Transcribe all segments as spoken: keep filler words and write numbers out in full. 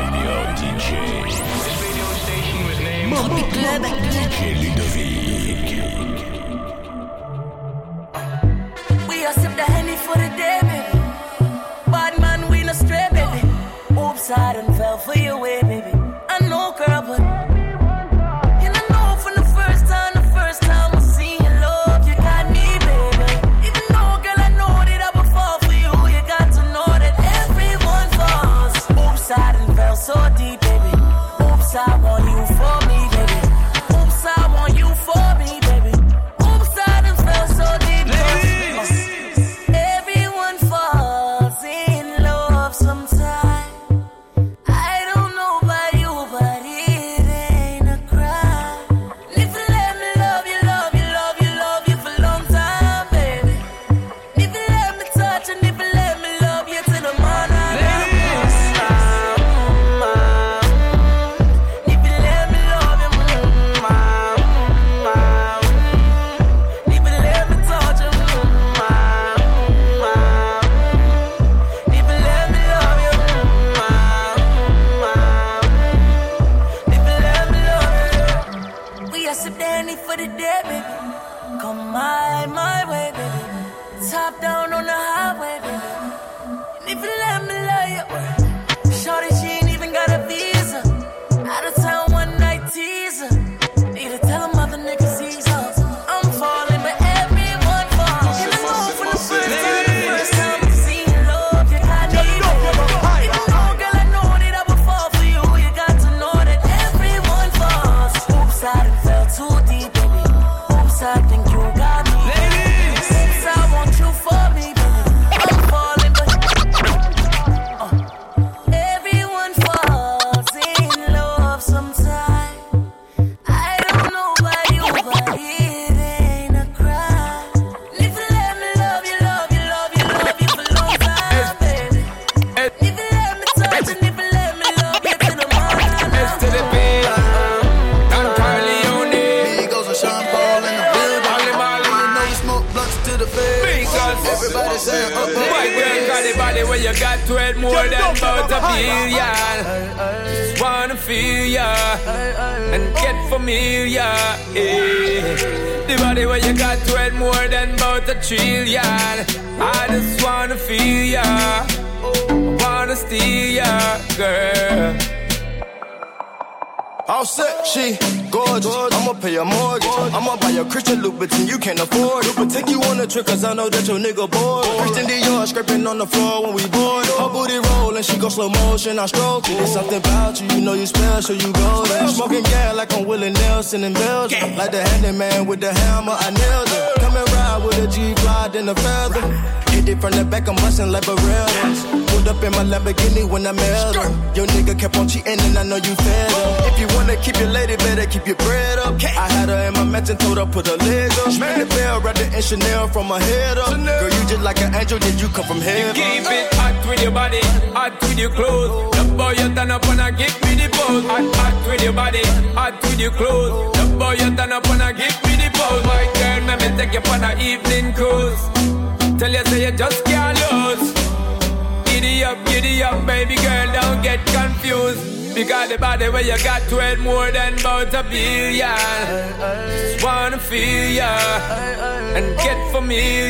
Radio D J. This radio station was named Moby Club D J Ludovic. We are sip the Henny for the day, baby. Bad man, we no stray, baby. Oops, I done fell for your way, baby. I know, girl, but and I know from the first time, the first time I seen your love, you got me, baby. Even though, girl, I know that I would fall for you, you got to know that everyone falls. Oops, I done fell so deep, baby. Oops, I want you for me, baby. Oops, I want you for me, baby. Oops, I done fell so deep, baby. Everyone falls in love sometime. I don't know about you, but it ain't a crime. If you let me love you, love you, love you, love you for a long time, baby. If you let me touch and if you let me love you till the morning. For the day, baby. Come my, my way, baby. Top down on the highway, baby. And if you let me love you, shorty, she ain't even got a visa. Out of town one night teaser. Need to tell them other niggas ease up. I'm falling, but everyone falls. And I know from the first time, the first time I seen your love, you got me, baby. Even though, girl, I know that I would fall for you, you got to know that everyone falls. Oops, I done fell too deep. I think you got me. Ladies, since I want you for me, baby. I'm falling, but uh, everyone falls in love sometime. I don't know about you, but it ain't a crime. If you let me love you, love you, love you, love you for a long time, baby. If you let me touch and if you let me love you till the morning. S to the B, Don Corleone, Migos and Sean Paul in the everybody saying, oh, oh, my girl got the body where you got to it more than about a billion. Just wanna feel ya and get familiar. Yeah. The body where you got to it more than about a trillion. I just wanna feel ya, I wanna steal ya, girl. all set, she gorgeous. I'ma pay a mortgage. I'ma buy a Christian Louboutin, you can't afford it. But take you on a trip, cause I know that your nigga bored. Christian Dior scraping on the floor when we board. Her booty rollin', she go slow motion, I stroke it. There's something about you, you know you special, you golden. Smoking gas like I'm Willie Nelson in Belgium. Like the handyman with the hammer, I nailed it. Come and ride with a G-Fly, then a feather. Hit it from the back, I'm bustin' like Barrett's. Pulled up in my Lamborghini when I met her. Your nigga kept on cheating and I know you fed her. If you wanna keep your lady, better keep your bread up. I had her in my mansion, told her put her leg up. Ring the bell, wrapped it in Chanel from her head up. Girl, you just like an angel, did you come from heaven? You keep it hot with your body, hot with your clothes. The boy you turn up and I give me the pose. Hot, hot with your body, hot with your clothes. The boy you turn up and I give me the pose. My girl, let me take you on an evening cruise. Tell you say you just can't lose. Giddy up, giddy up, baby girl, don't get confused. Because the body where you got to it more than about a billion. Just wanna feel ya and get familiar.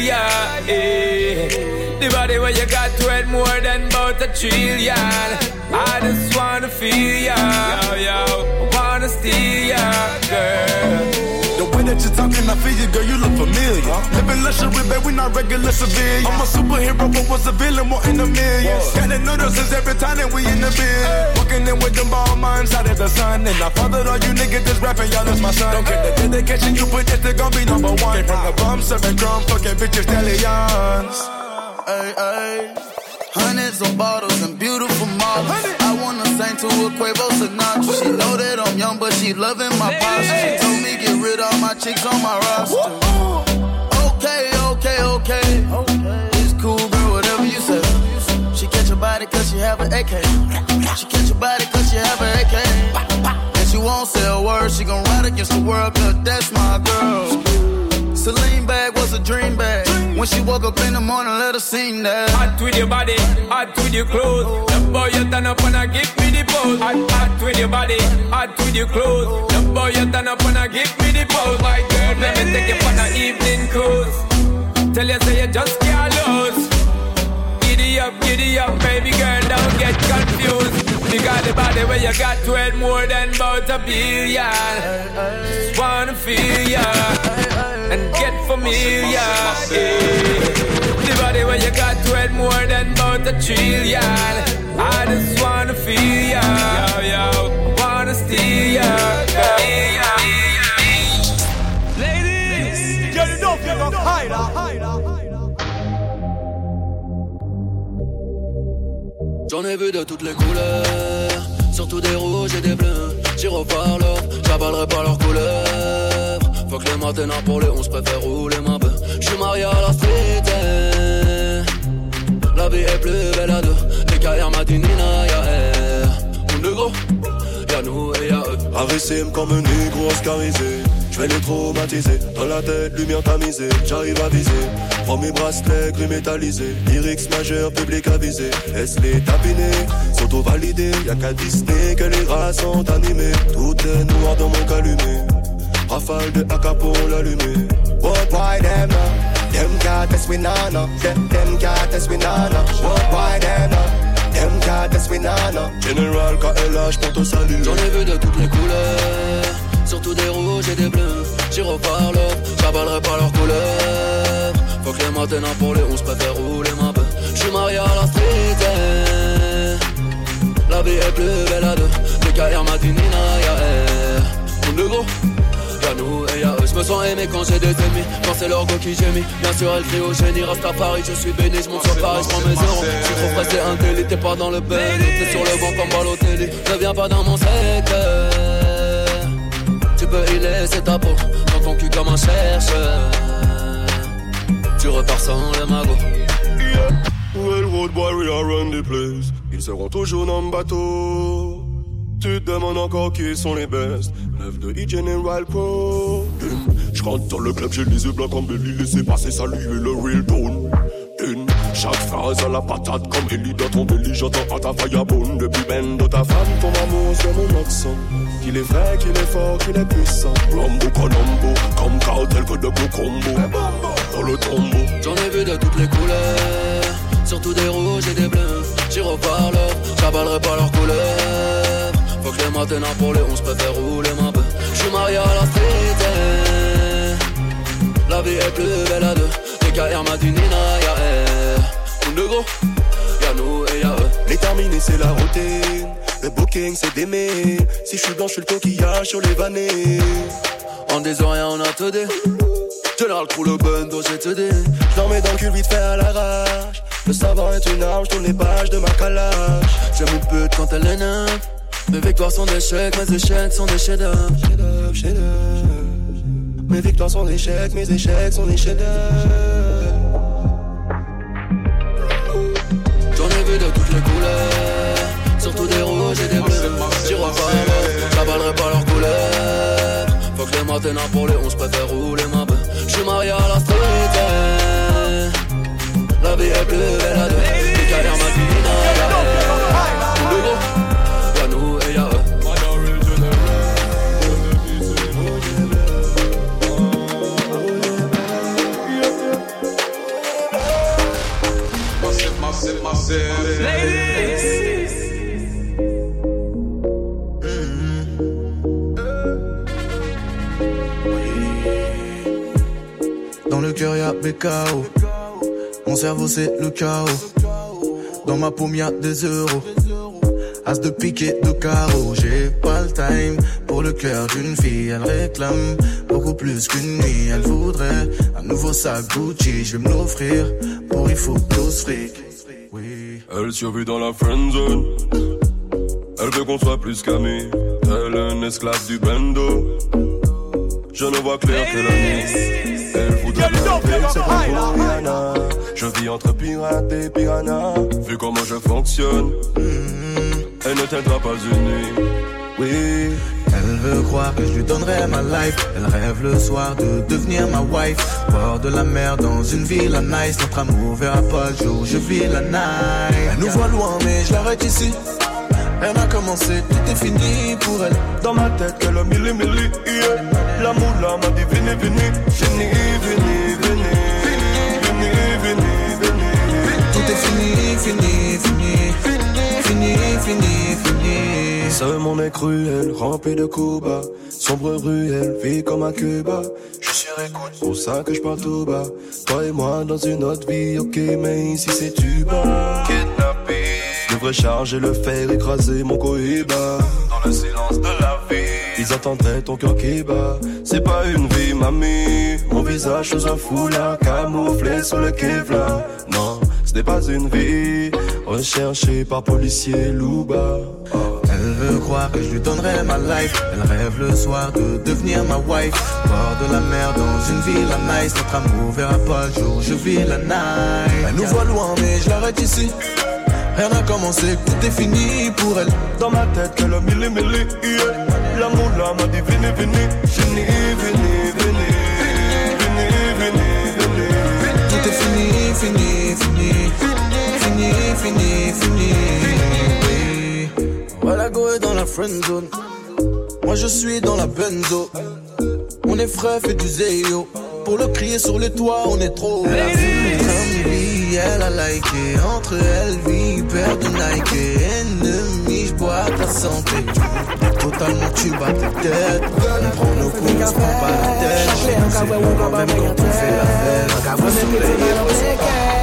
Yeah. The body where you got to it more than about a trillion. I just wanna feel ya, yo, yo. I wanna steal ya, girl. The way that you're talking, I feel you, girl, you look familiar. Huh? Living luxury, babe, we not regular civilians. I'm a superhero, but was a villain, more in the millions. Gotta notice us every time that we in the bed. Walking in with them ball minds out of the sun. And I fathered all you niggas that's rapping, y'all is my son. Don't get the dedication you put, this they gon' be number one. Came from the bum, serving drum, fucking bitches, stallions. Ay, ay. Hundreds of bottles and beautiful models. I wanna sing to a Quavo Sinatra. She know that I'm young, but she loving my posture. She told me get rid of my chicks on my roster. Okay, okay, okay. It's cool, girl, whatever you say. She catch your body cause she have an A K. She catch your body cause she have an A K. And she won't say a word. She gon' ride against the world cause that's my girl. Celine bag was a dream bag. When she woke up in the morning, let her sing that. Hot with your body, hot with your clothes. The boy you turn up and I give me the pose. Hot, hot with your body, hot with your clothes. The boy you turn up and I give me the pose. My girl, let me take you for an evening cruise. Tell you say you just can't lose. Giddy up, giddy up, baby girl, don't get confused. You got the body where you got worth more than about a billion. Just wanna feel ya and get familiar. Yeah. The body where you got worth more than about a trillion. I just wanna feel ya, yo, yo, wanna steal ya, yeah, yeah. Ladies, get it up, get up, hide up. J'en ai vu de toutes les couleurs, surtout des rouges et des bleus. Gyroparleurs, j'avalerai pas leurs couleurs. Faut que les matins pour les onze préfère rouler ma bœuf. J'suis marié à la street, eh. La vie est plus belle à deux. Les carrières Madinina, y'a elle. On est gros, y'a nous et y'a eux. Arrêtez-moi comme un négro oscarisé. J'vais les traumatiser, dans la tête, lumière tamisée. J'arrive à viser, prends mes bracelets gris métallisés. Lyrics majeurs, public avisé. Laisse les tapiner, s'auto-valider. Y'a qu'à Disney que les rats sont animés. Tout est noir dans mon calumet. Rafale de A K pour l'allumer. What why them now? Them can't test we nana. Them them can't test we nana. What why them now? Them can't test we nana. General K L H pour te saluer. J'en ai vu de toutes les couleurs, surtout des rouges et des bleus. Gyroparleurs, j'avalerai pas leurs couleurs. Faut que les matins pour les onze préfère rouler ma bœuf. J'suis marié à la street, eh. La vie est plus belle à deux. Les carrières Madinina, y'a elle. On est gros, y'a nous et y'a eux. J'me sens aimé quand j'ai des ennemis, quand c'est leur go qui gémit. Bien sûr elle crie au génie, reste à Paris, je suis béni. J'monte sur Paris, j'prends mes euros. J'suis trop pressé, un délit, t'es pas dans le bain. T'es sur le banc comme Balotelli. Ne viens pas dans mon secteur. Tu peux y laisser ta peau, dans ton cul comme un chercheur. Tu repars sans le magot. Yeah. Well, road boy, we are run the place. Ils seront toujours dans le bateau. Tu te demandes encore qui sont les best. Lève de E-General Pro. Je rentre dans le club, j'ai les yeux blancs comme Belly. Laissez passer, saluer le real tone. Une, chaque phrase à la patate comme Ellie dans ton belly. J'entends à ta firebone. Depuis ben de ta femme, ton amour sur mon accent. Qu'il est vrai, qu'il est fort, qu'il est puissant. Rambo, Colombo, comme cartel que de Cocombo. Dans le tombeau. J'en ai vu de toutes les couleurs, surtout des rouges et des bleus. Gyroparleurs, j'avalerai pas leurs couleurs. Faut que les matins pour les onze préfère rouler ma bœuf. J'suis marié à la street, eh. La vie est plus belle à deux. Les carrières Madinina, y'a elle. On est gros, y'a nous et y'a eux. Les terminés c'est la routine. Le booking c'est d'aimer. Si j'suis blanc j'suis le coquillage sur les vannées. En disant rien on a te dit. Général crew le bando j'ai te dit. J'en mets dans le cul vite fait à l'arrache. Le savant est une arme, j'tourne les pages de ma calage. J'aime une pute quand elle est neuve. Mes victoires sont des échecs, mes échecs sont des chefs-d'œuvre. Chef-d'œuvre, chef-d'œuvre. Mes victoires sont des échecs, mes échecs sont des chefs-d'œuvre. J'en ai vu de toutes les couleurs, surtout des rouges et des bleus. Gyroparleurs, j'avalerai pas leurs couleurs. Faut que les matins pour les onze préfère rouler ma bœuf. J'suis marié à la street, eh. La vie est plus belle à deux. Les carrières Madinina, y'a elle. On est gros, y'a nous et y'a eux. Massive, massive, Ladies, dans le cœur y'a B K O. Mon cerveau c'est le chaos. Dans ma paume y'a des euros. As de pique et de carreau. J'ai pas le time pour le cœur d'une fille. Elle réclame beaucoup plus qu'une nuit. Elle voudrait un nouveau sac Gucci. Je vais me l'offrir pour il faut douze fric. Oui. Elle survit dans la friendzone. Elle veut qu'on soit plus qu'amis. Elle est un esclave du bando. Je ne vois clair que la nuit. Elle voudrait m'appeler, c'est pas pour Rihanna. Je vis entre pirates et piranhas. Vu comment je fonctionne, mmh. Elle ne t'aidera pas une nuit. Oui, elle Elle veut croire que je lui donnerai ma life. Elle rêve le soir de devenir ma wife. Bord de la mer dans une ville à nice. Notre amour verra pas le jour, je vis la night. Elle nous voit loin mais je l'arrête ici. Elle a commencé, tout est fini pour elle. Dans ma tête qu'elle a mille et mille, yeah. L'amour là m'a dit venez, venez. Venez, venez, venez. Venez, venez, venez. Tout est fini, fini, fini. Fini, fini, fini. Ce monde est cruel, rempli de coups bas. Sombre ruelle, vie comme à Cuba. Je suis écoute, pour ça que je parle tout bas. Toi et moi dans une autre vie, ok, mais ici c'est tu bas. Kidnappé. Je devrais charger le fer, écraser mon cohiba. Dans le silence de la vie, ils attendraient ton cœur qui bat. C'est pas une vie, mamie. Mon visage sous un foulard, camouflé sous le Kevlar. Non, ce n'est pas une vie. Recherché par policier Louba. Elle veut croire que je lui donnerai ma life. Elle rêve le soir de devenir ma wife. Bord de la mer dans une ville à nice. Notre amour verra pas le jour, je vis la night. Elle nous voit loin mais je l'arrête ici. Rien n'a commencé, tout est fini pour elle. Dans ma tête qu'elle a mille et mille, yeah. L'amour là m'a dit venez, venez. Venez, venez, venez. Venez, venez, venez. Tout est fini, fini, fini. Fini, fini, fini. Voilà, go est dans la friend zone. Moi je suis dans la benzo. On est frais, fait du zéyo. Pour le crier sur les toits, on est trop. La vie, comme vie, elle a liké. Entre elle, vie, père de Nike. Ennemi, j'bois ta santé. Totalement, tu bats tes têtes. On prend nos coups, on se prend pas la tête. Chez nous, c'est bon, quand même, quand on fait la fête. Au soleil, on se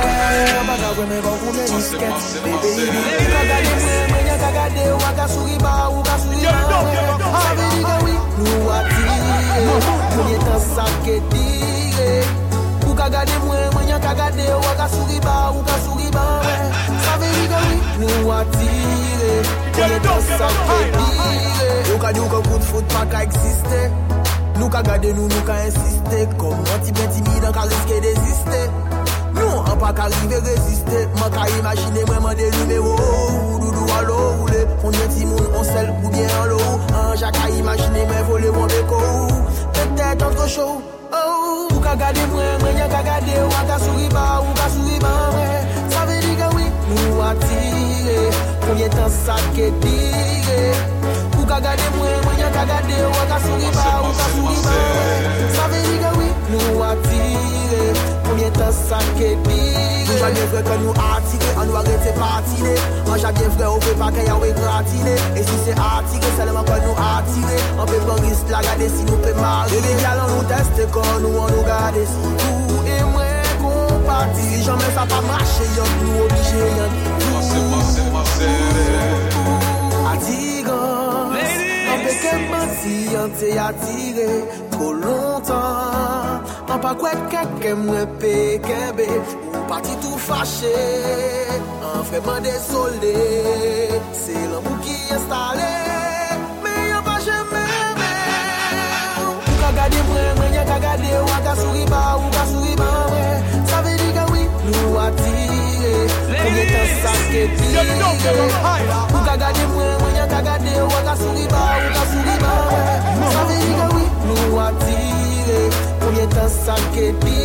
ou ka gade mwen, mwen yon ka gade ou ka souri ba, ou ka souri ba ça veut dire que oui, nous attire on est dans ça que ou ka di ou ka coup de foot pas ka exister nous ka gade nous, nous ka insister comme anti bien timide, ka risquer d'exister nous, on pas qu'arriver résister moi ka imaginer moi des numéros doudou à l'eau roulé on est timoun, on sel ou bien en l'eau un jacques à imaginer mais voler mon déco peut-être entre chaud oh, ou ka gade mwen, mwen yon ka gade ou ka souri ba, ou ka souri ba ça veut dire que oui, nous attire combien temps ça que dire ou ka gade mwen, mwen yon ka gade ou ka souri ba, ou ka souri ba ça veut dire que oui, nous attire combien temps ça que dire nous a bien vrai que nous attire, on nous arrête patiner on a bien vrai, on fait pas qu'il y a ou gratiner et si c'est attirer, seulement que nous attirer on peut pas risque la garder si nous peut marrer les gars on nous teste quand nous on nous garde si vous et moi qu'on partit si jamais ça pas marcher y'a nous obligé y'a attirant on peut qu'elle mentir on t'est attiré trop longtemps on pas quoi quelqu'un me paie ou parti tout fâché en vraiment désolé c'est l'amour qui est installé mais y'a pas jamais ou ka gade mwen, mwen y'a ka gade ou ka souri ba, ou ka souri ba ça veut dire que oui, nous attire combien temps ça que dire ou ka gade mwen, mwen y'a ka gade ou ka souri ba, ou ka souri ba ça veut dire que oui, nous attire combien temps ça que dire